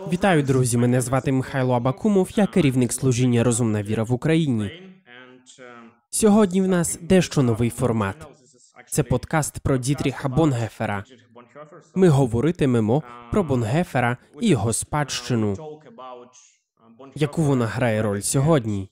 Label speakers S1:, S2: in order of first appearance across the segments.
S1: Вітаю, друзі! Мене звати Михайло Абакумов, я керівник служіння «Розумна віра» в Україні. Сьогодні в нас дещо новий формат. Це подкаст про Дітріха Бонгефера. Ми говоритимемо про Бонгефера і його спадщину. Яку вона грає роль сьогодні?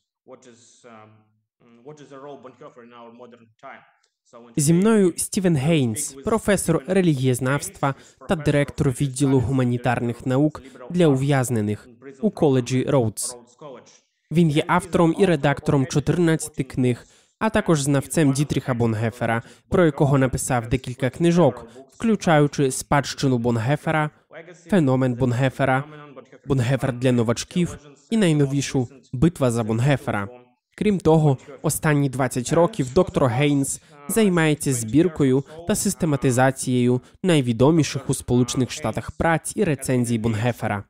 S1: Зі мною Стівен Гейнс, професор релігієзнавства та директор відділу гуманітарних наук для ув'язнених у коледжі Роудс. Він є автором і редактором 14 книг, а також знавцем Дітріха Бонгефера, про якого написав декілька книжок, включаючи «Спадщину Бонгефера», «Феномен Бонгефера», «Бонгефер для новачків» і найновішу «Битва за Бонгефера». Крім того, останні 20 років доктор Гейнс займається збіркою та систематизацією найвідоміших у Сполучених Штатах праць і рецензій Бонгефера.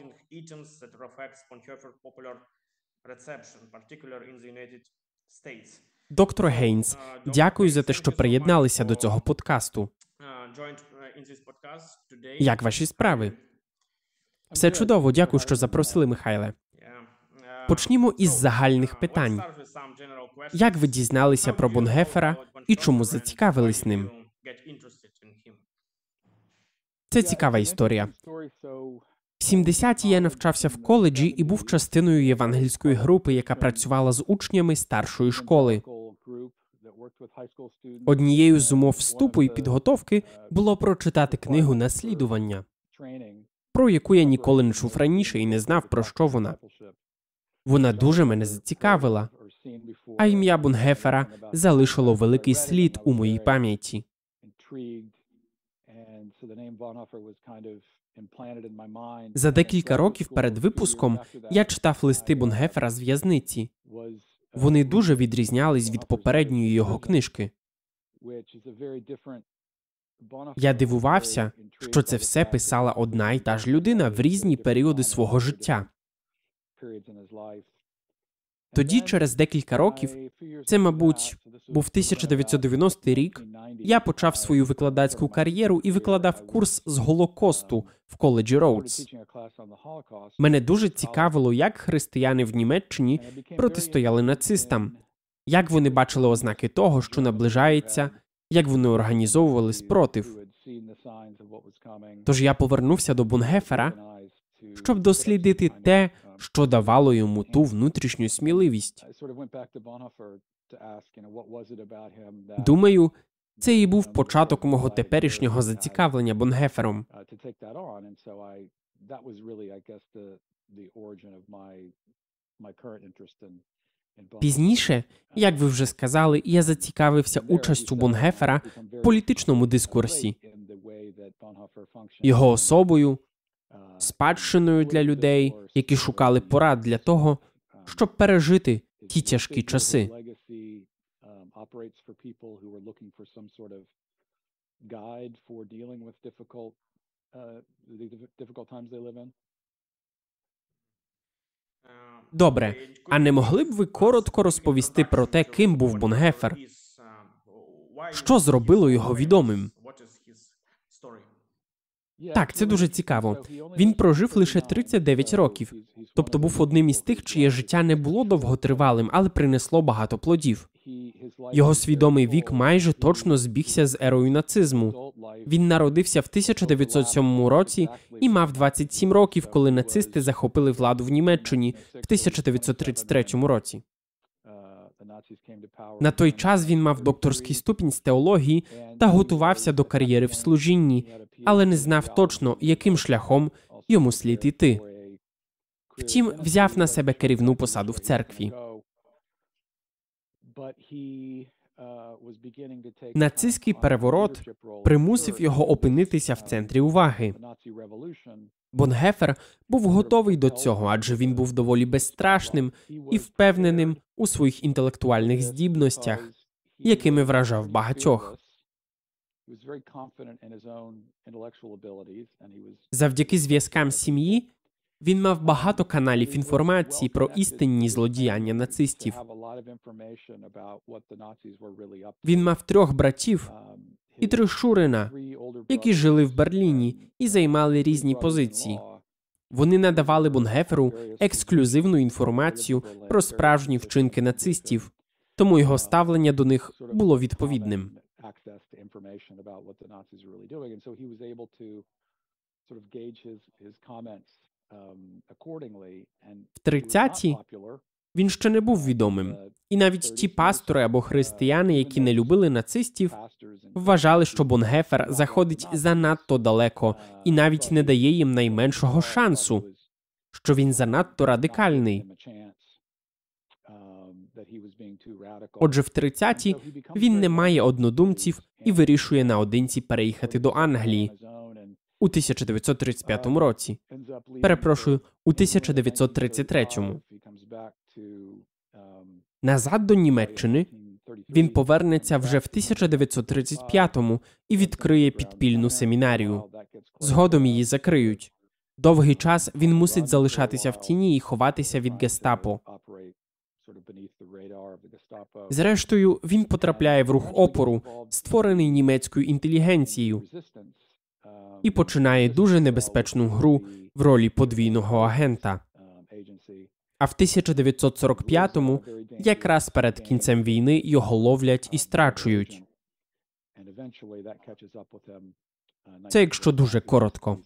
S1: Доктор Гейнс, дякую за те, що приєдналися до цього подкасту. Як ваші справи? Все чудово, дякую, що запросили, Михайле. Почнімо із загальних питань. Як ви дізналися про Бонгефера і чому зацікавились ним? Це цікава історія. В 70-ті я навчався в коледжі і був частиною євангельської групи, яка працювала з учнями старшої школи. Однією з умов вступу і підготовки було прочитати книгу «Наслідування», про яку я ніколи не чув раніше і не знав, про що вона. Вона дуже мене зацікавила, а ім'я Бонгефера залишило великий слід у моїй пам'яті. За декілька років перед випуском я читав листи Бонгефера з в'язниці. Вони дуже відрізнялись від попередньої його книжки. Я дивувався, що це все писала одна й та ж людина в різні періоди свого життя. Тоді, через декілька років, це, мабуть, був 1990 рік, я почав свою викладацьку кар'єру і викладав курс з Голокосту в коледжі Роудс. Мене дуже цікавило, як християни в Німеччині протистояли нацистам, як вони бачили ознаки того, що наближається, як вони організовували спротив. Тож я повернувся до Бонгефера, щоб дослідити те, що давало йому ту внутрішню сміливість. Думаю, це і був початок мого теперішнього зацікавлення Бонгефером. Пізніше, як ви вже сказали, я зацікавився участю Бонгефера в політичному дискурсі, його особою, спадщиною для людей, які шукали порад для того, щоб пережити ті тяжкі часи. Добре, а не могли б ви коротко розповісти про те, ким був Бонгефер? Що зробило його відомим? Так, це дуже цікаво. Він прожив лише 39 років, тобто був одним із тих, чиє життя не було довготривалим, але принесло багато плодів. Його свідомий вік майже точно збігся з ерою нацизму. Він народився в 1907 році і мав 27 років, коли нацисти захопили владу в Німеччині в 1933 році. На той час він мав докторський ступінь з теології та готувався до кар'єри в служінні, але не знав точно, яким шляхом йому слід іти. Втім, взяв на себе керівну посаду в церкві. Нацистський переворот примусив його опинитися в центрі уваги. Бонгефер був готовий до цього, адже він був доволі безстрашним і впевненим у своїх інтелектуальних здібностях, якими вражав багатьох. Завдяки зв'язкам сім'ї він мав багато каналів інформації про істинні злодіяння нацистів. Він мав 3 братів і 3 шурина, які жили в Берліні і займали різні позиції. Вони надавали Бонгеферу ексклюзивну інформацію про справжні вчинки нацистів, тому його ставлення до них було відповідним. В 30-ті він ще не був відомим. І навіть ті пастори або християни, які не любили нацистів, вважали, що Бонгефер заходить занадто далеко і навіть не дає їм найменшого шансу, що він занадто радикальний. Отже, в 30-ті він не має однодумців і вирішує наодинці переїхати до Англії у 1935 році. Перепрошую, у 1933-му. Назад до Німеччини він повернеться вже в 1935-му і відкриє підпільну семінарію. Згодом її закриють. Довгий час він мусить залишатися в тіні і ховатися від гестапо. Зрештою, він потрапляє в рух опору, створений німецькою інтелігенцією, і починає дуже небезпечну гру в ролі подвійного агента. А в 1945-му, якраз перед кінцем війни, його ловлять і страчують. Це якщо дуже коротко.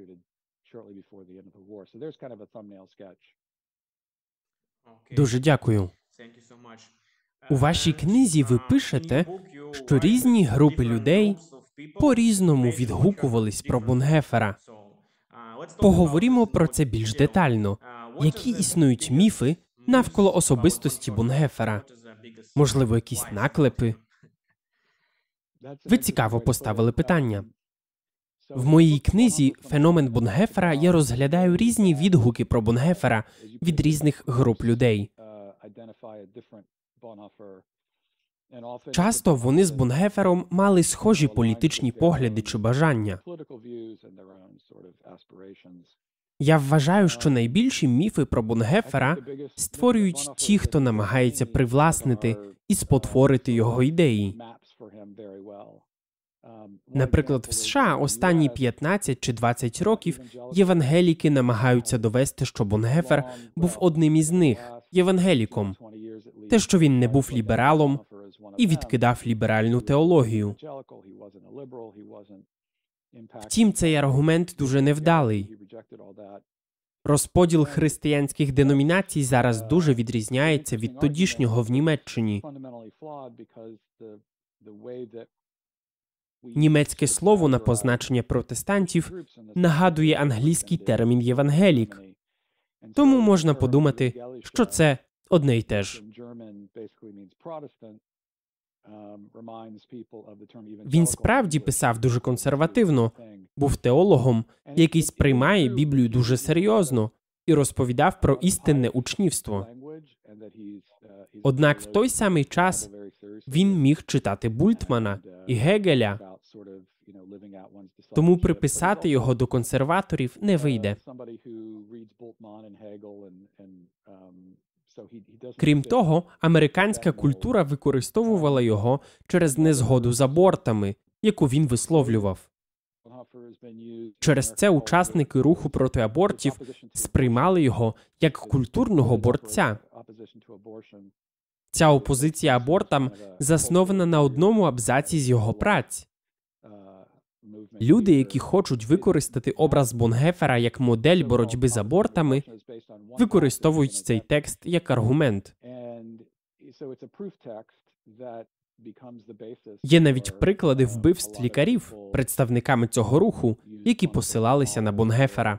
S1: Дуже дякую. У вашій книзі ви пишете, що різні групи людей по-різному відгукувались про Бонгефера. Поговоримо про це більш детально. Які існують міфи навколо особистості Бонгефера? Можливо, якісь наклепи? Ви цікаво поставили питання. В моїй книзі «Феномен Бонгефера» я розглядаю різні відгуки про Бонгефера від різних груп людей. Часто вони з Бонгефером мали схожі політичні погляди чи бажання. Я вважаю, що найбільші міфи про Бонгефера створюють ті, хто намагається привласнити і спотворити його ідеї. Наприклад, в США останні 15 чи 20 років євангеліки намагаються довести, що Бонгефер був одним із них, євангеліком. Те, що він не був лібералом і відкидав ліберальну теологію. Втім, цей аргумент дуже невдалий. Розподіл християнських деномінацій зараз дуже відрізняється від тодішнього в Німеччині. Німецьке слово на позначення протестантів нагадує англійський термін «євангелік». Тому можна подумати, що це одне й те ж. Він справді писав дуже консервативно, був теологом, який сприймає Біблію дуже серйозно і розповідав про істинне учнівство. Однак в той самий час він міг читати Бультмана і Гегеля, тому приписати його до консерваторів не вийде. Крім того, американська культура використовувала його через незгоду з абортами, яку він висловлював. Через це учасники руху проти абортів сприймали його як культурного борця. Ця опозиція абортам заснована на одному абзаці з його праць. Люди, які хочуть використати образ Бонгефера як модель боротьби з абортами, використовують цей текст як аргумент. Є навіть приклади вбивств лікарів, представниками цього руху, які посилалися на Бонгефера.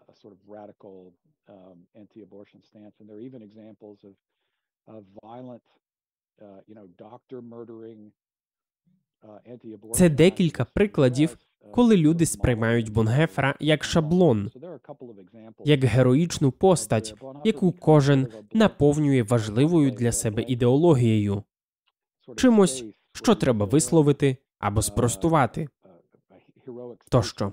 S1: Це декілька прикладів, коли люди сприймають Бонгефера як шаблон, як героїчну постать, яку кожен наповнює важливою для себе ідеологією. Чимось, що треба висловити або спростувати. Тощо.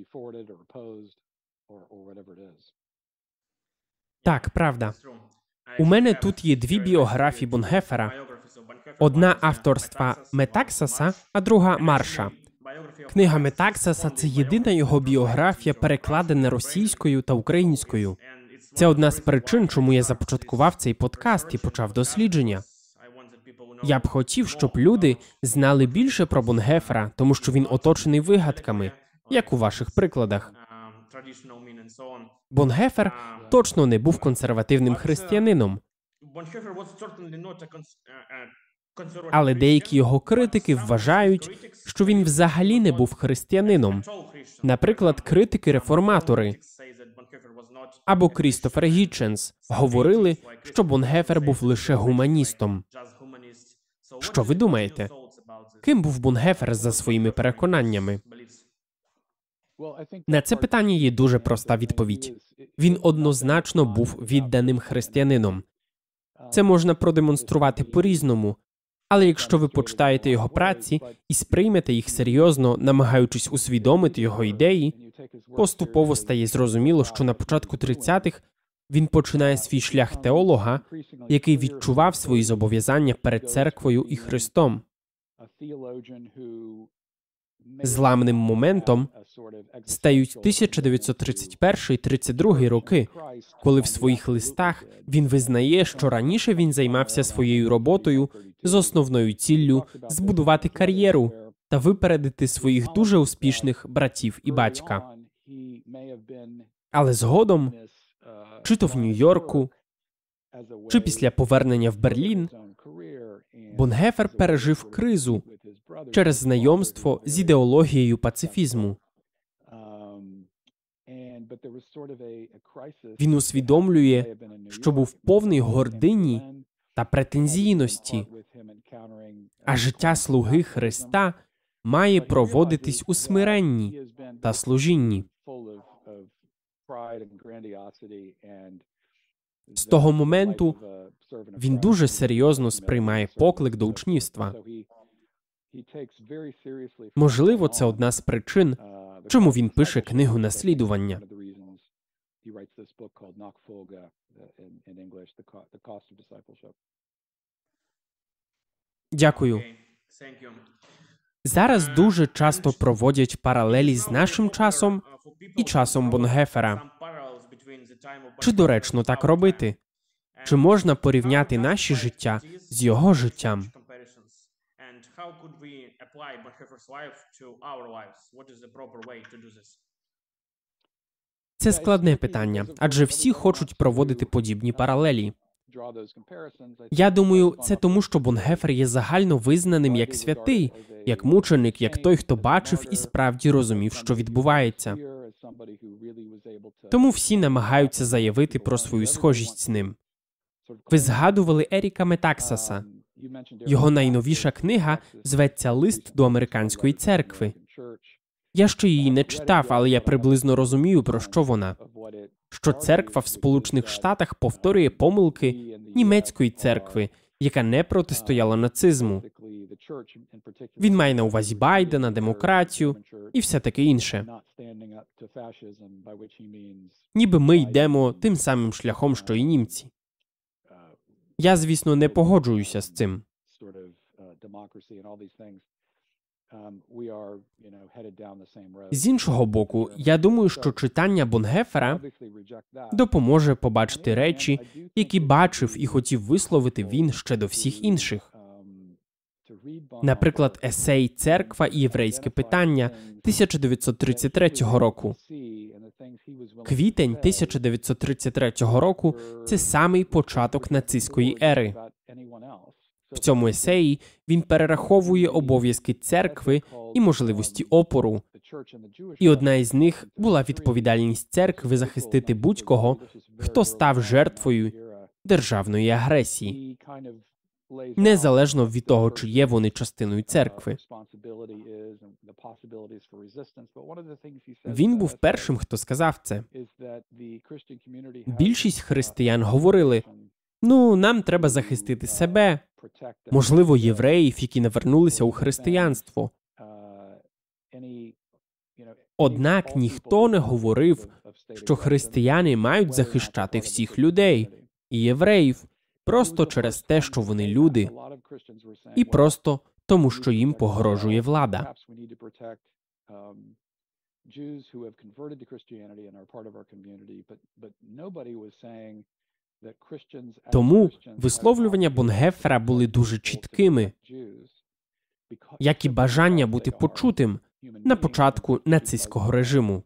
S1: Так, правда. У мене тут є дві біографії Бонгефера. Одна авторства Метаксаса, а друга Марша. Книга Метаксаса – це єдина його біографія, перекладена російською та українською. Це одна з причин, чому я започаткував цей подкаст і почав дослідження. Я б хотів, щоб люди знали більше про Бонгефера, тому що він оточений вигадками, як у ваших прикладах. Бонгефер точно не був консервативним християнином. Але деякі його критики вважають, що він взагалі не був християнином. Наприклад, критики-реформатори або Крістофер Гітченс говорили, що Бонгефер був лише гуманістом. Що ви думаєте? Ким був Бонгефер за своїми переконаннями? На це питання є дуже проста відповідь. Він однозначно був відданим християнином. Це можна продемонструвати по-різному, але якщо ви почитаєте його праці і сприймете їх серйозно, намагаючись усвідомити його ідеї, поступово стає зрозуміло, що на початку 30-х він починає свій шлях теолога, який відчував свої зобов'язання перед церквою і Христом. Зламним моментом стають 1931-32 роки, коли в своїх листах він визнає, що раніше він займався своєю роботою з основною ціллю збудувати кар'єру та випередити своїх дуже успішних братів і батька. Але згодом, чи то в Нью-Йорку, чи після повернення в Берлін, Бонгефер пережив кризу через знайомство з ідеологією пацифізму. Він усвідомлює, що був повний гордині та претензійності, а життя слуги Христа має проводитись у смиренні та служінні. З того моменту він дуже серйозно сприймає поклик до учнівства. Можливо, це одна з причин, чому він пише книгу «Наслідування». Дякую. Зараз дуже часто проводять паралелі з нашим часом і часом Бонгефера. Чи доречно так робити? Чи можна порівняти наші життя з його життям? Це складне питання, адже всі хочуть проводити подібні паралелі. Я думаю, це тому, що Бонгефер є загально визнаним як святий, як мученик, як той, хто бачив і справді розумів, що відбувається. Тому всі намагаються заявити про свою схожість з ним. Ви згадували Еріка Метаксаса. Його найновіша книга зветься «Лист до американської церкви». Я ще її не читав, але я приблизно розумію, про що вона. Що церква в Сполучених Штатах повторює помилки німецької церкви, яка не протистояла нацизму. Він має на увазі Байдена, демократію і все таке інше. Ніби ми йдемо тим самим шляхом, що і німці. Я, звісно, не погоджуюся з цим. З іншого боку, я думаю, що читання Бонгефера допоможе побачити речі, які бачив і хотів висловити він ще до всіх інших. Наприклад, есей «Церква і єврейське питання» 1933 року. Квітень 1933 року – це самий початок нацистської ери. В цьому есеї він перераховує обов'язки церкви і можливості опору. І одна із них була відповідальність церкви захистити будь-кого, хто став жертвою державної агресії, незалежно від того, чи є вони частиною церкви. Він був першим, хто сказав це. Більшість християн говорили, нам треба захистити себе, можливо, євреїв, які навернулися у християнство. Однак ніхто не говорив, що християни мають захищати всіх людей. і євреїв, просто через те, що вони люди, і просто тому, що їм погрожує влада. Тому висловлювання Бонгефера були дуже чіткими, як і бажання бути почутим на початку нацистського режиму.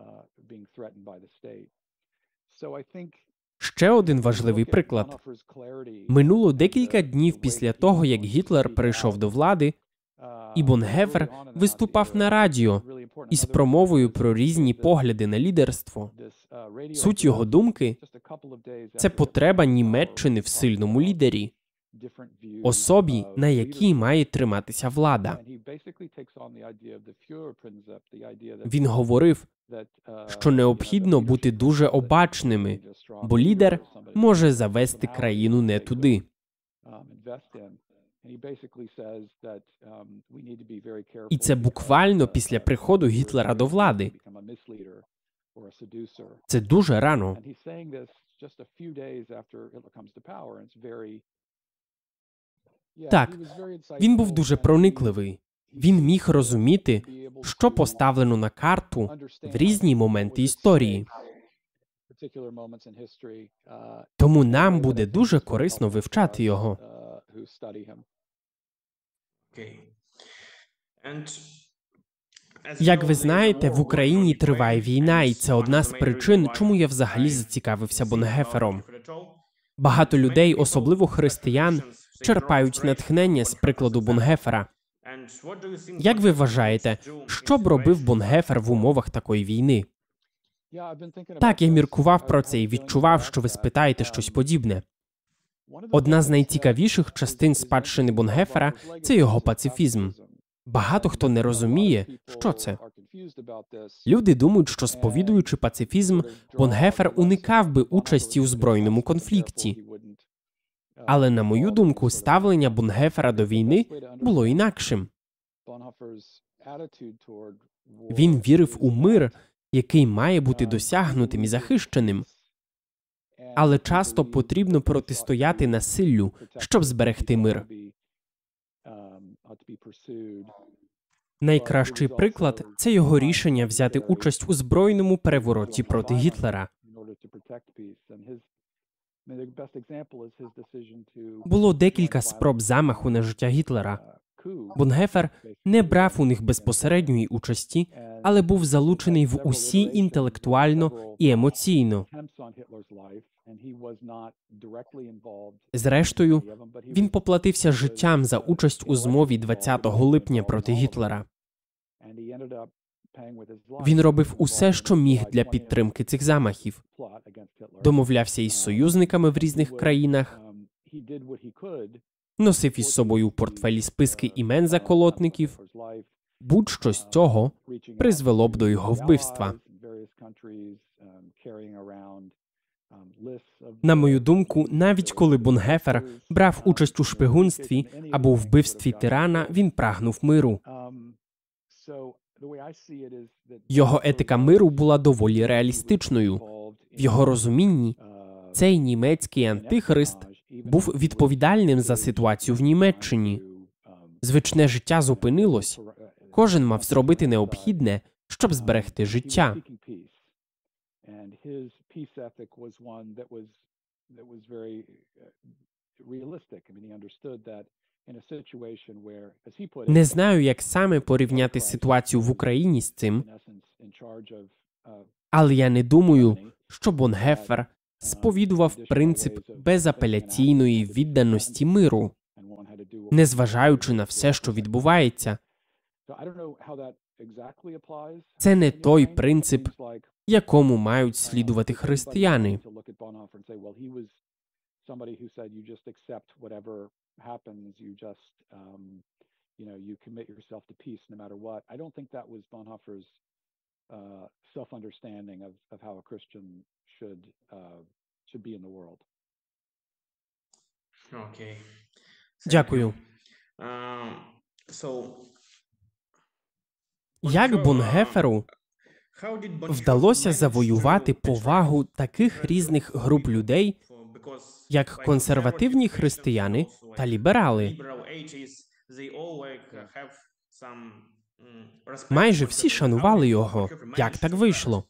S1: Ще один важливий приклад. Минуло декілька днів після того, як Гітлер прийшов до влади, і Бонгефер виступав на радіо із промовою про різні погляди на лідерство. Суть його думки – це потреба Німеччини в сильному лідері, особі, на якій має триматися влада. Він говорив, що необхідно бути дуже обачними, бо лідер може завести країну не туди. І це буквально після приходу Гітлера до влади. Це дуже рано. Так, він був дуже проникливий. Він міг розуміти, що поставлено на карту в різні моменти історії. Тому нам буде дуже корисно вивчати його. Як ви знаєте, в Україні триває війна, і це одна з причин, чому я взагалі зацікавився Бонгефером. Багато людей, особливо християн, черпають натхнення з прикладу Бонгефера. Як ви вважаєте, що б робив Бонгефер в умовах такої війни? Так, я міркував про це і відчував, що ви спитаєте щось подібне. Одна з найцікавіших частин спадщини Бонгефера – це його пацифізм. Багато хто не розуміє, що це. Люди думають, що сповідуючи пацифізм, Бонгефер уникав би участі у збройному конфлікті. Але, на мою думку, ставлення Бонгефера до війни було інакшим. Він вірив у мир, який має бути досягнутим і захищеним. Але часто потрібно протистояти насиллю, щоб зберегти мир. Найкращий приклад – це його рішення взяти участь у збройному перевороті проти Гітлера. Було декілька спроб замаху на життя Гітлера. Бонгефер не брав у них безпосередньої участі, але був залучений в усі інтелектуально і емоційно. Зрештою, він поплатився життям за участь у змові 20 липня проти Гітлера. Він робив усе, що міг для підтримки цих замахів. Домовлявся із союзниками в різних країнах, носив із собою у портфелі списки імен заколотників. Будь-що з цього призвело б до його вбивства. На мою думку, навіть коли Бонгефер брав участь у шпигунстві або вбивстві тирана, він прагнув миру. Його етика миру була доволі реалістичною. В його розумінні цей німецький антихрист був відповідальним за ситуацію в Німеччині. Звичне життя зупинилось. Кожен мав зробити необхідне, щоб зберегти життя. Не знаю, як саме порівняти ситуацію в Україні з цим, але я не думаю, що Бонгефер сповідував принцип безапеляційної відданості миру, незважаючи на все, що відбувається. Це не той принцип, якому мають слідувати християни. Дякую. Як Бонгеферу вдалося завоювати повагу таких різних груп людей як консервативні християни та ліберали. Майже всі шанували його. Як так вийшло?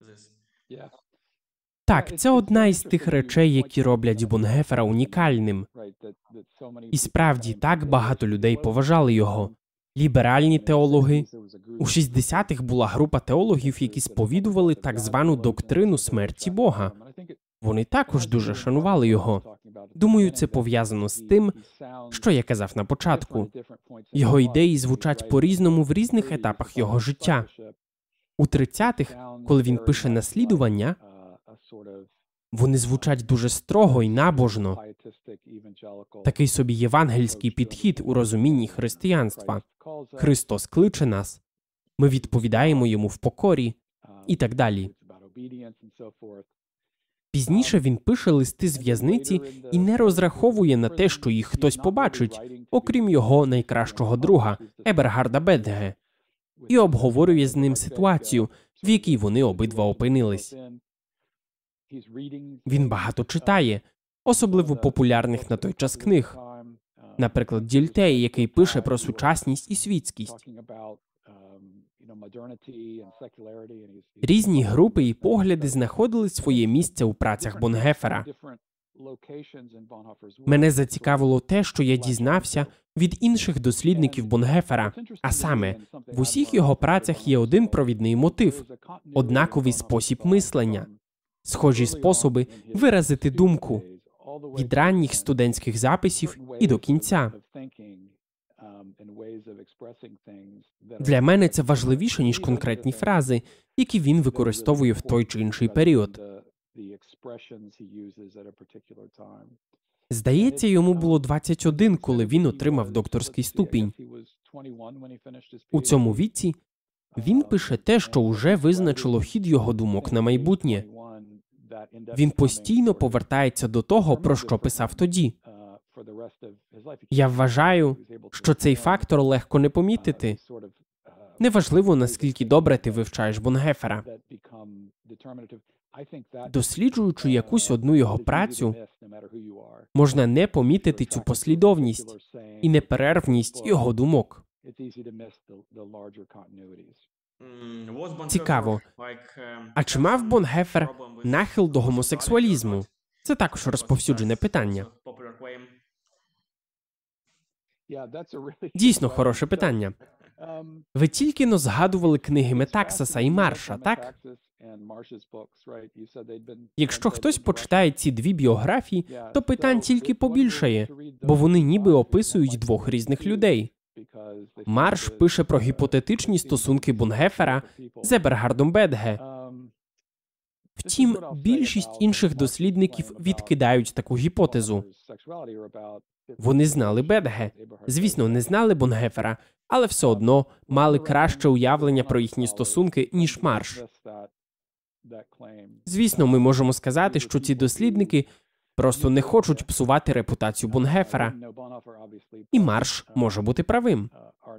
S1: Так, це одна із тих речей, які роблять Бонгефера унікальним. І справді, так багато людей поважали його. Ліберальні теологи. У 60-х була група теологів, які сповідували так звану доктрину смерті Бога. Вони також дуже шанували його. Думаю, це пов'язано з тим, що я казав на початку. Його ідеї звучать по-різному в різних етапах його життя. У 30-х, коли він пише «Наслідування», вони звучать дуже строго і набожно. Такий собі євангельський підхід у розумінні християнства. Христос кличе нас, ми відповідаємо йому в покорі і так далі. Пізніше він пише листи з в'язниці і не розраховує на те, що їх хтось побачить, окрім його найкращого друга, Ебергарда Бедге, і обговорює з ним ситуацію, в якій вони обидва опинились. Він багато читає, особливо популярних на той час книг. Наприклад, Дільтей, який пише про сучасність і світськість. Різні групи і погляди знаходили своє місце у працях Бонгефера. Мене зацікавило те, що я дізнався від інших дослідників Бонгефера, а саме, в усіх його працях є один провідний мотив – однаковий спосіб мислення, схожі способи виразити думку, від ранніх студентських записів і до кінця. Для мене це важливіше, ніж конкретні фрази, які він використовує в той чи інший період. Здається, йому було 21, коли він отримав докторський ступінь. У цьому віці він пише те, що уже визначило хід його думок на майбутнє. Він постійно повертається до того, про що писав тоді. Я вважаю, що цей фактор легко не помітити. Неважливо, наскільки добре ти вивчаєш Бонгефера. Досліджуючи якусь одну його працю, можна не помітити цю послідовність і неперервність його думок. Цікаво, а чи мав Бонгефер нахил до гомосексуалізму? Це також розповсюджене питання. Дійсно хороше питання. Ви тільки-но згадували книги Метаксаса і Марша, так? Якщо хтось почитає ці дві біографії, то питань тільки побільшає, бо вони ніби описують двох різних людей. Марш пише про гіпотетичні стосунки Бонгефера з Ебергардом Бедге. Втім, більшість інших дослідників відкидають таку гіпотезу. Вони знали Бедге. Звісно, не знали Бонгефера, але все одно мали краще уявлення про їхні стосунки, ніж Марш. Звісно, ми можемо сказати, що ці дослідники просто не хочуть псувати репутацію Бонгефера. І Марш може бути правим.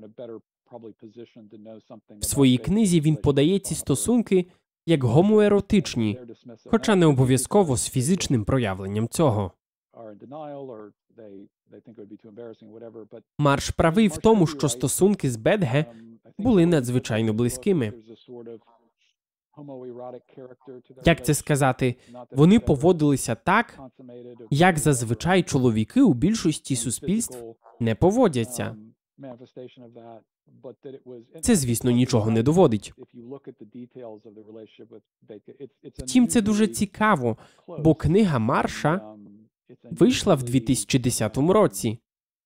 S1: В своїй книзі він подає ці стосунки як гомоеротичні, хоча не обов'язково з фізичним проявленням цього. Марш правий в тому, що стосунки з Бедге були надзвичайно близькими. Як це сказати? Вони поводилися так, як зазвичай чоловіки у більшості суспільств не поводяться. Це, звісно, нічого не доводить. Втім, це дуже цікаво, бо книга Марша вийшла в 2010 році,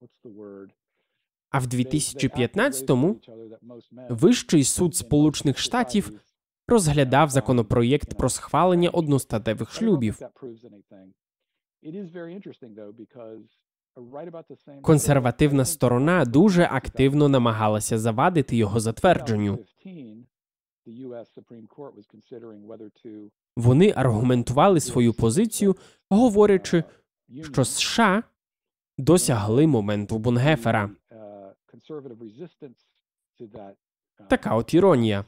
S1: а в 2015-му Вищий суд Сполучених Штатів розглядав законопроєкт про схвалення одностатевих шлюбів. Консервативна сторона дуже активно намагалася завадити його затвердженню. Вони аргументували свою позицію, говорячи, що США досягли моменту Бонгефера. Така от іронія.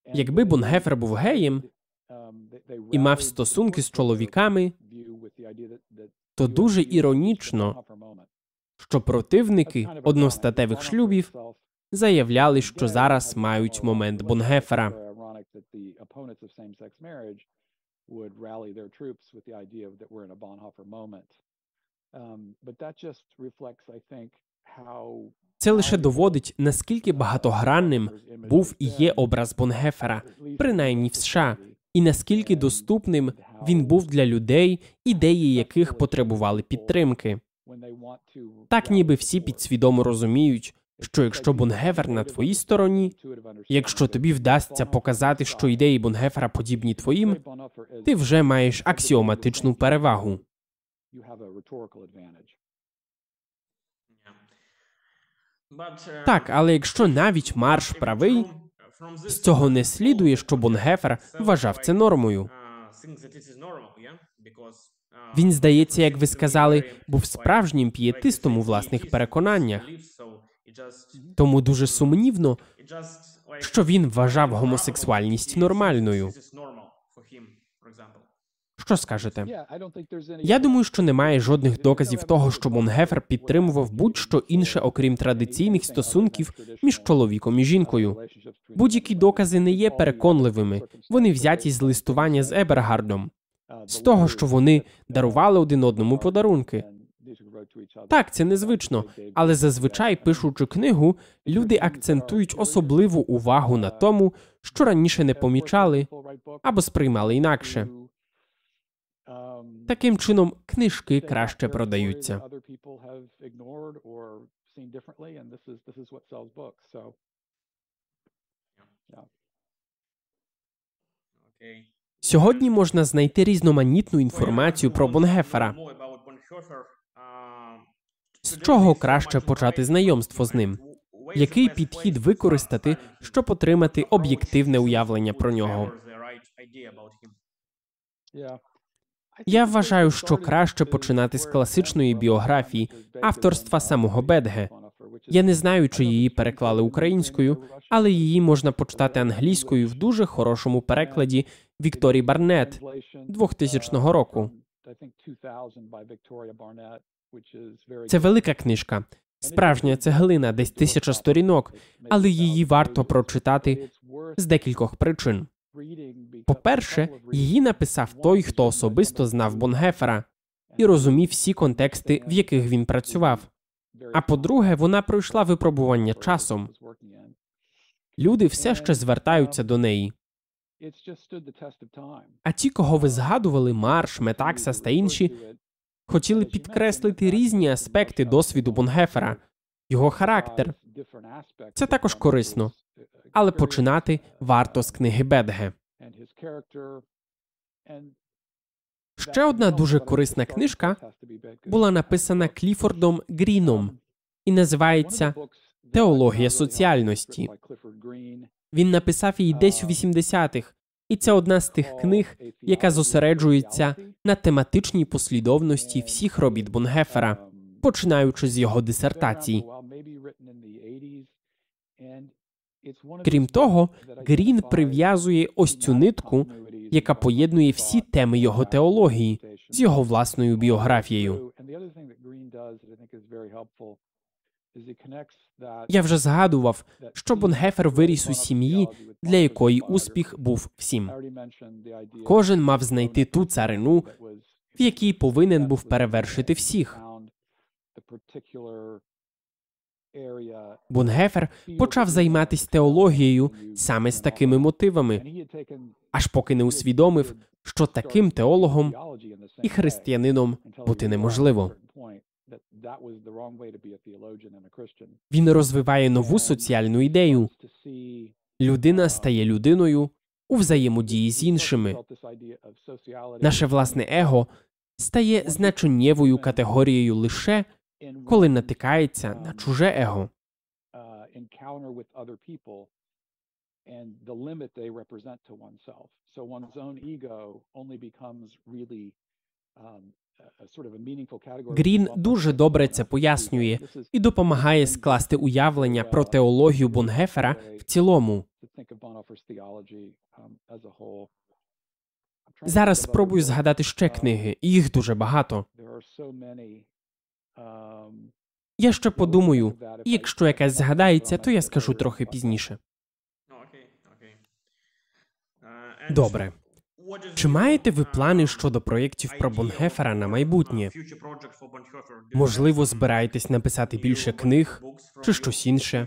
S1: Якби Бонхефер був геєм і мав стосунки з чоловіками, то дуже іронічно, що противники одностатевих шлюбів заявляли, що зараз мають момент Бонхефера. Це лише доводить, наскільки багатогранним був і є образ Бонхефера, принаймні в США, і наскільки доступним він був для людей, ідеї яких потребували підтримки. Так ніби всі підсвідомо розуміють, що якщо Бонхефер на твоїй стороні, якщо тобі вдасться показати, що ідеї Бонхефера подібні твоїм, ти вже маєш аксіоматичну перевагу. Так, але якщо навіть Марш правий, з цього не слідує, що Бонхефер вважав це нормою. Він, здається, як ви сказали, був справжнім пієтистом у власних переконаннях. Тому дуже сумнівно, що він вважав гомосексуальність нормальною. Що скажете? Я думаю, що немає жодних доказів того, що Бонхефер підтримував будь-що інше, окрім традиційних стосунків між чоловіком і жінкою. Будь-які докази не є переконливими. Вони взяті з листування з Ебергардом, з того, що вони дарували один одному подарунки. Так, це незвично, але зазвичай, пишучи книгу, люди акцентують особливу увагу на тому, що раніше не помічали або сприймали інакше. Таким чином, книжки краще продаються. Сьогодні можна знайти різноманітну інформацію про Бонхефера. З чого краще почати знайомство з ним? Який підхід використати, щоб отримати об'єктивне уявлення про нього? Я вважаю, що краще починати з класичної біографії авторства самого Бедге. Я не знаю, чи її переклали українською, але її можна почитати англійською в дуже хорошому перекладі Вікторії Барнетт 2000 року. Це велика книжка, справжня цеглина, десь 1000 сторінок, але її варто прочитати з декількох причин. По-перше, її написав той, хто особисто знав Бонхефера і розумів всі контексти, в яких він працював. А по-друге, вона пройшла випробування часом. Люди все ще звертаються до неї. А ті, кого ви згадували, Марш, Метаксас та інші, хотіли підкреслити різні аспекти досвіду Бонхефера, його характер. Це також корисно. Але починати варто з книги Бедге. Ще одна дуже корисна книжка була написана Кліфордом Гріном і називається «Теологія соціальності». Він написав її десь у 80-х, і це одна з тих книг, яка зосереджується на тематичній послідовності всіх робіт Бонхефера, починаючи з його дисертації. Крім того, Грін прив'язує ось цю нитку, яка поєднує всі теми його теології з його власною біографією. Я вже згадував, що Бонхефер виріс у сім'ї, для якої успіх був всім. Кожен мав знайти ту царину, в якій повинен був перевершити всіх. Бонхефер почав займатися теологією саме з такими мотивами, аж поки не усвідомив, що таким теологом і християнином бути неможливо. Він розвиває нову соціальну ідею. Людина стає людиною у взаємодії з іншими. Наше власне его стає значеннєвою категорією лише, коли натикається на чуже его. Грін дуже добре це пояснює і допомагає скласти уявлення про теологію Бонхоефера в цілому. Зараз спробую згадати ще книги, і їх дуже багато. Я ще подумаю, і якщо якась згадається, то я скажу трохи пізніше. Добре. Чи маєте ви плани щодо проєктів про Бонхоефера на майбутнє? Можливо, збираєтесь написати більше книг чи щось інше?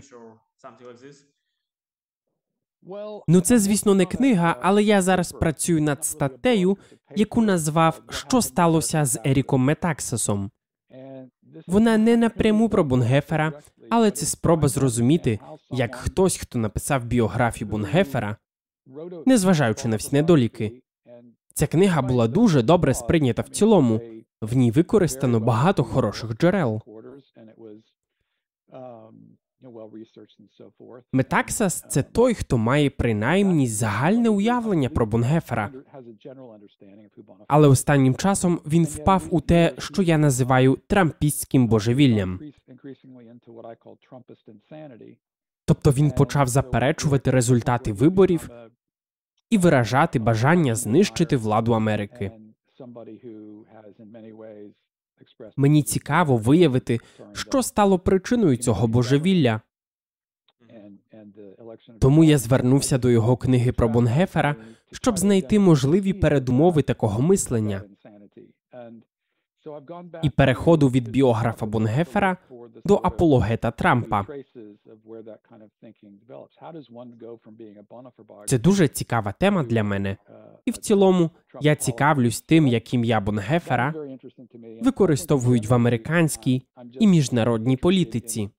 S1: Ну, це, звісно, не книга, але я зараз працюю над статтею, яку назвав «Що сталося з Еріком Метаксасом?». Вона не напряму про Бонхоефера, але це спроба зрозуміти, як хтось, хто написав біографію Бонхоефера, незважаючи на всі недоліки. Ця книга була дуже добре сприйнята в цілому. В ній використано багато хороших джерел. Метаксас – це той, хто має принаймні загальне уявлення про Бонхоефера. Але останнім часом він впав у те, що я називаю трампістським божевіллям. Тобто він почав заперечувати результати виборів і виражати бажання знищити владу Америки. Мені цікаво виявити, що стало причиною цього божевілля. Тому я звернувся до його книги про Бонхоефера, щоб знайти можливі передумови такого мислення. І переходу від біографа Бонхоефера до апологета Трампа. Це дуже цікава тема для мене. І в цілому я цікавлюсь тим, як ім'я Бонхоефера використовують в американській і міжнародній політиці.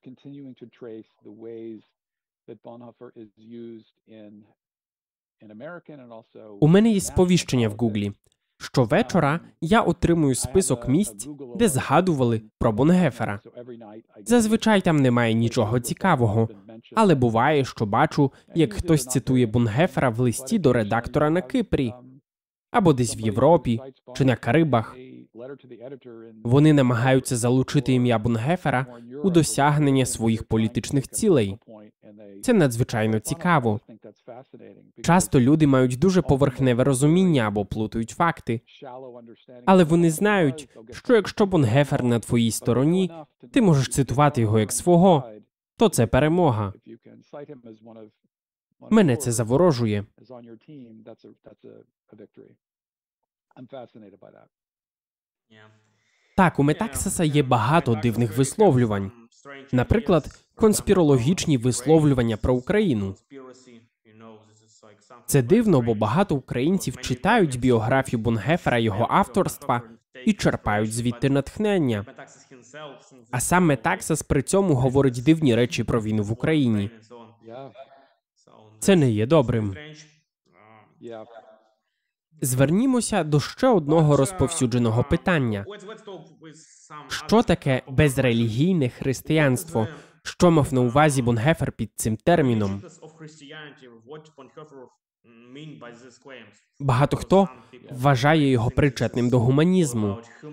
S1: У мене є сповіщення в Гуглі. Щовечора я отримую список місць, де згадували про Бонхоефера. Зазвичай там немає нічого цікавого, але буває, що бачу, як хтось цитує Бонхоефера в листі до редактора на Кипрі, або десь в Європі, чи на Карибах. Вони намагаються залучити ім'я Бонхоефера у досягнення своїх політичних цілей. Це надзвичайно цікаво. Часто люди мають дуже поверхневе розуміння або плутають факти. Але вони знають, що якщо Бонхоефер на твоїй стороні, ти можеш цитувати його як свого, то це перемога. Мене це заворожує. Так, у Метаксаса є багато дивних висловлювань. Наприклад, конспірологічні висловлювання про Україну. Це дивно, бо багато українців читають біографію Бонхоефера його авторства і черпають звідти натхнення. А сам Метаксас при цьому говорить дивні речі про війну в Україні. Це не є добрим. Звернімося до ще одного розповсюдженого питання. Що таке безрелігійне християнство? Що мав на увазі Бонхоефер під цим терміном? Багато хто вважає його причетним до гуманізму.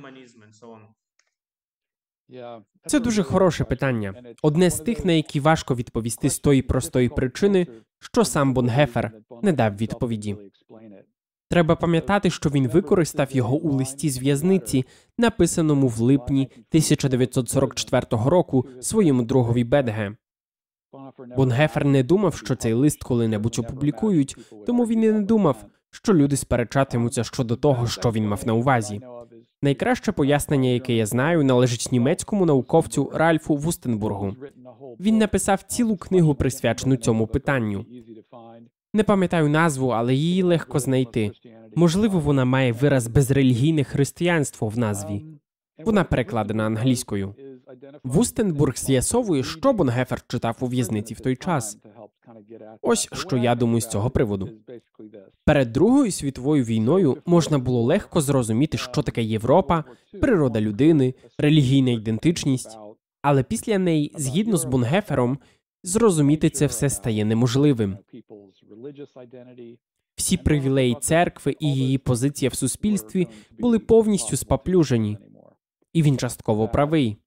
S1: Це дуже хороше питання. Одне з тих, на які важко відповісти з тої простої причини, що сам Бонхоефер не дав відповіді. Треба пам'ятати, що він використав його у листі з в'язниці, написаному в липні 1944 року своєму другові Бетге. Бонхоефер не думав, що цей лист коли-небудь опублікують, тому він і не думав, що люди сперечатимуться щодо того, що він мав на увазі. Найкраще пояснення, яке я знаю, належить німецькому науковцю Ральфу Вустенбургу. Він написав цілу книгу, присвячену цьому питанню. Не пам'ятаю назву, але її легко знайти. Можливо, вона має вираз «безрелігійне християнство» в назві. Вона перекладена англійською. Вустенбург з'ясовує, що Бонхоефер читав у в'язниці в той час. Ось що я думаю з цього приводу. Перед Другою світовою війною можна було легко зрозуміти, що таке Європа, природа людини, релігійна ідентичність. Але після неї, згідно з Бонхоефером, зрозуміти це все стає неможливим. Всі привілеї церкви і її позиція в суспільстві були повністю спаплюжені. І він частково правий.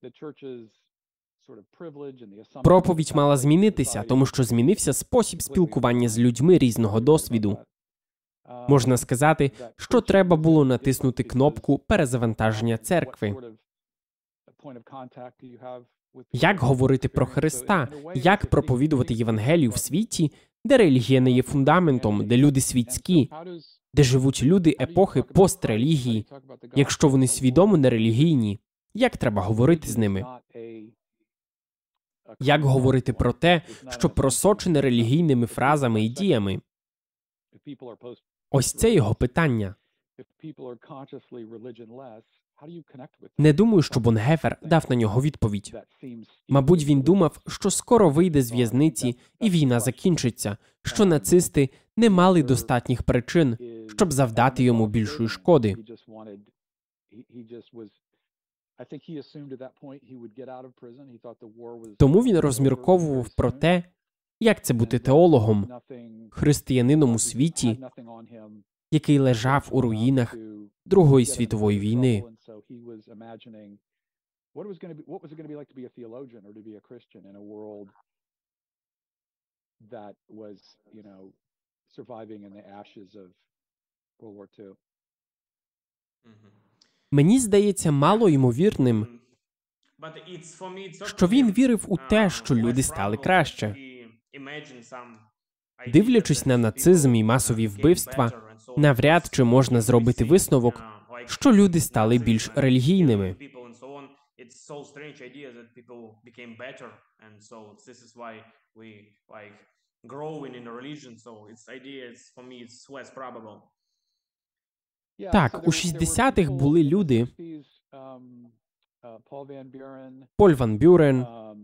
S1: Проповідь мала змінитися, тому що змінився спосіб спілкування з людьми різного досвіду. Можна сказати, що треба було натиснути кнопку перезавантаження церкви. Як говорити про Христа? Як проповідувати Євангелію в світі, де релігія не є фундаментом, де люди світські, де живуть люди епохи пострелігії, якщо вони свідомо нерелігійні? Як треба говорити з ними? Як говорити про те, що просочене релігійними фразами і діями? Ось це його питання. Не думаю, що Бонгефер дав на нього відповідь. Мабуть, він думав, що скоро вийде з в'язниці і війна закінчиться, що нацисти не мали достатніх причин, щоб завдати йому більшої шкоди. Тому він розмірковував про те, як це бути теологом, християнином у світі, який лежав у руїнах Другої світової війни. Мені здається мало ймовірним, що він вірив у те, що люди стали краще. Дивлячись на нацизм і масові вбивства, навряд чи можна зробити висновок, що люди стали більш релігійними. Так, у 60-х були люди Поль Ван Бюрен,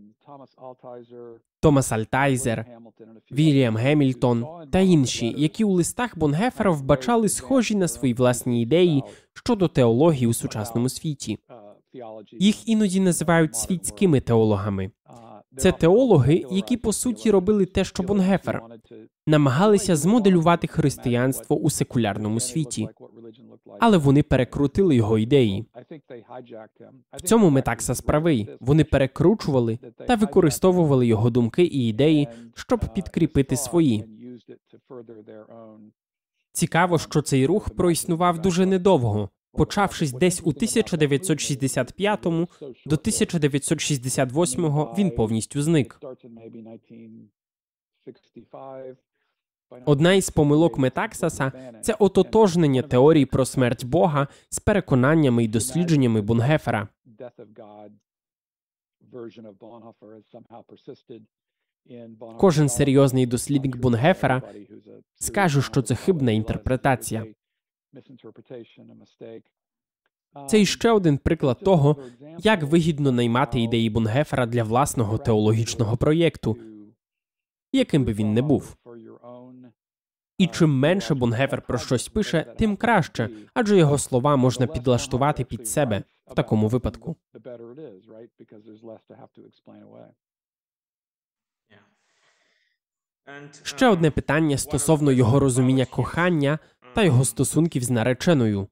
S1: Томас Альтайзер, Вільям Гемільтон та інші, які у листах Бонгефера вбачали схожі на свої власні ідеї щодо теології у сучасному світі. Їх іноді називають світськими теологами. Це теологи, які, по суті, робили те, що Бонгефер. Намагалися змоделювати християнство у секулярному світі. Але вони перекрутили його ідеї. В цьому Метаксас правий. Вони перекручували та використовували його думки і ідеї, щоб підкріпити свої. Цікаво, що цей рух проіснував дуже недовго. Почавшись десь у 1965-му, до 1968-го він повністю зник. Одна із помилок Метаксаса – це ототожнення теорії про смерть Бога з переконаннями і дослідженнями Бонгефера. Кожен серйозний дослідник Бонгефера скаже, що це хибна інтерпретація. Це іще один приклад того, як вигідно наймати ідеї Бонгефера для власного теологічного проєкту, яким би він не був. І чим менше Бонгефер про щось пише, тим краще, адже його слова можна підлаштувати під себе в такому випадку. Ще одне питання стосовно його розуміння кохання та його стосунків з нареченою.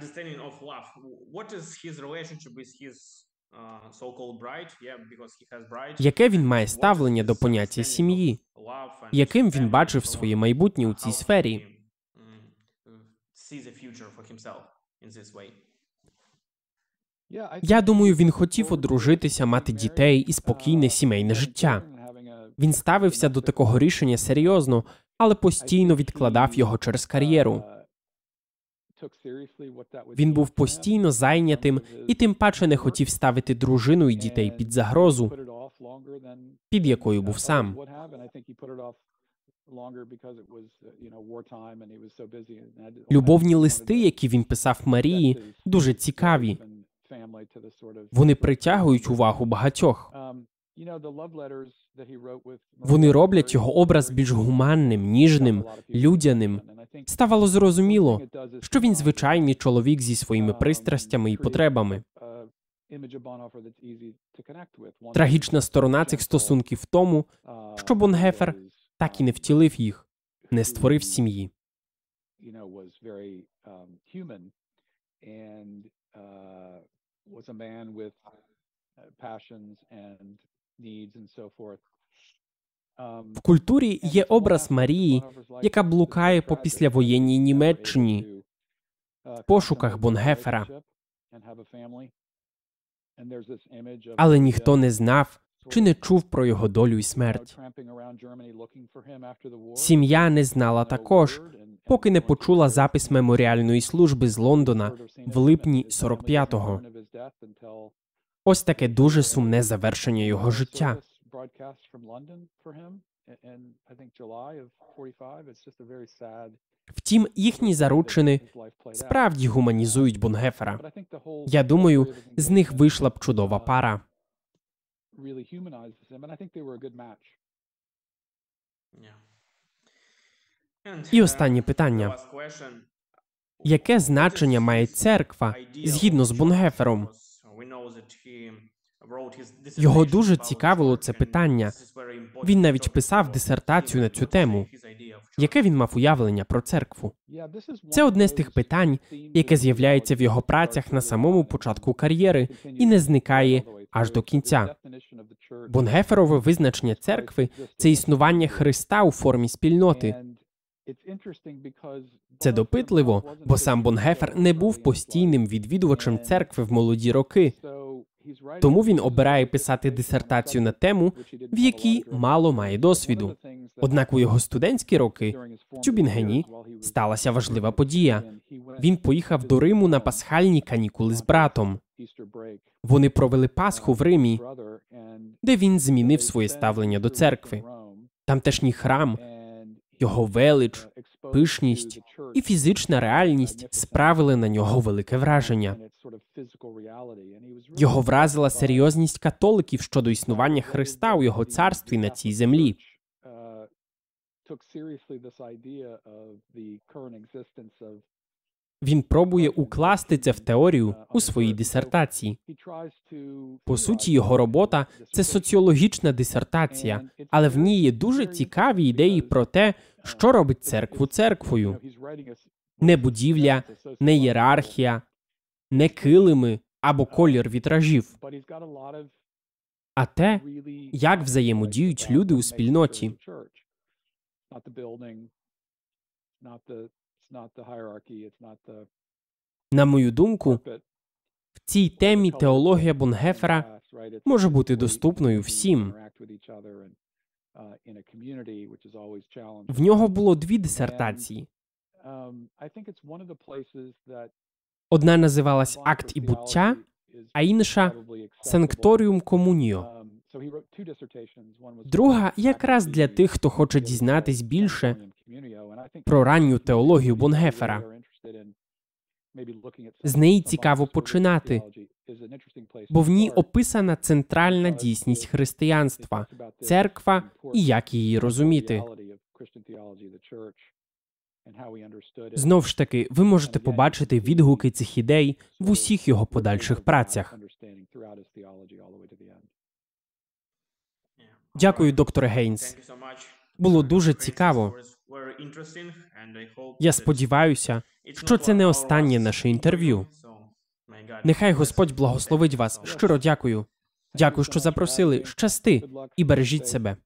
S1: Яке він має ставлення до поняття сім'ї? Яким він бачив своє майбутнє у цій сфері? Я думаю, він хотів одружитися, мати дітей і спокійне сімейне життя. Він ставився до такого рішення серйозно, але постійно відкладав його через кар'єру. Він був постійно зайнятим і тим паче не хотів ставити дружину і дітей під загрозу, під якою був сам. Любовні листи, які він писав Марії, дуже цікаві. Вони притягують увагу багатьох. Вони роблять його образ більш гуманним, ніжним, людяним. Ставало зрозуміло, що він звичайний чоловік зі своїми пристрастями і потребами. Трагічна сторона цих стосунків в тому, що Бонгефер так і не втілив їх, не створив сім'ї.
S2: was very human and was a man with passions and needs and so forth.
S1: В культурі є образ Марії, яка блукає по післявоєнній Німеччині в пошуках Бонгефера. Але ніхто не знав чи не чув про його долю і смерть. Сім'я не знала також, поки не почула запис меморіальної служби з Лондона в липні 45-го. Ось таке дуже сумне завершення його життя. Втім, їхні заручини справді гуманізують Бонгефера. Я думаю, з них вийшла б чудова пара. І останнє питання. Яке значення має церква згідно з Бонгефером? Його дуже цікавило це питання. Він навіть писав дисертацію на цю тему. Яке він мав уявлення про церкву? Це одне з тих питань, яке з'являється в його працях на самому початку кар'єри і не зникає аж до кінця. Бонгеферове визначення церкви – це існування Христа у формі спільноти. Це допитливо, бо сам Бонгефер не був постійним відвідувачем церкви в молоді роки. Тому він обирає писати дисертацію на тему, в якій мало має досвіду. Однак у його студентські роки в Тюбінгені сталася важлива подія. Він поїхав до Риму на пасхальні канікули з братом. Вони провели Пасху в Римі, де він змінив своє ставлення до церкви. Тамтешній храм, його велич, пишність і фізична реальність справили на нього велике враження. Його вразила серйозність католиків щодо існування Христа у його царстві на цій землі. Він пробує укласти це в теорію у своїй дисертації. По суті, його робота – це соціологічна дисертація, але в ній є дуже цікаві ідеї про те, що робить церкву церквою. Не будівля, не ієрархія, не килими або колір вітражів, а те, як взаємодіють люди у спільноті. На мою думку, в цій темі теологія Бонгефера може бути доступною всім. В нього було 2 дисертації. Одна називалась «Акт і буття», а інша «Санкторіум комуніо». Друга якраз для тих, хто хоче дізнатись більше про ранню теологію Бонгефера. З неї цікаво починати, бо в ній описана центральна дійсність християнства, церква і як її розуміти. Знов ж таки, ви можете побачити відгуки цих ідей в усіх його подальших працях. Дякую, докторе Гейнс. Було дуже цікаво. Я сподіваюся, що це не останнє наше інтерв'ю. Нехай Господь благословить вас. Щиро дякую. Дякую, що запросили. Щасти і бережіть себе.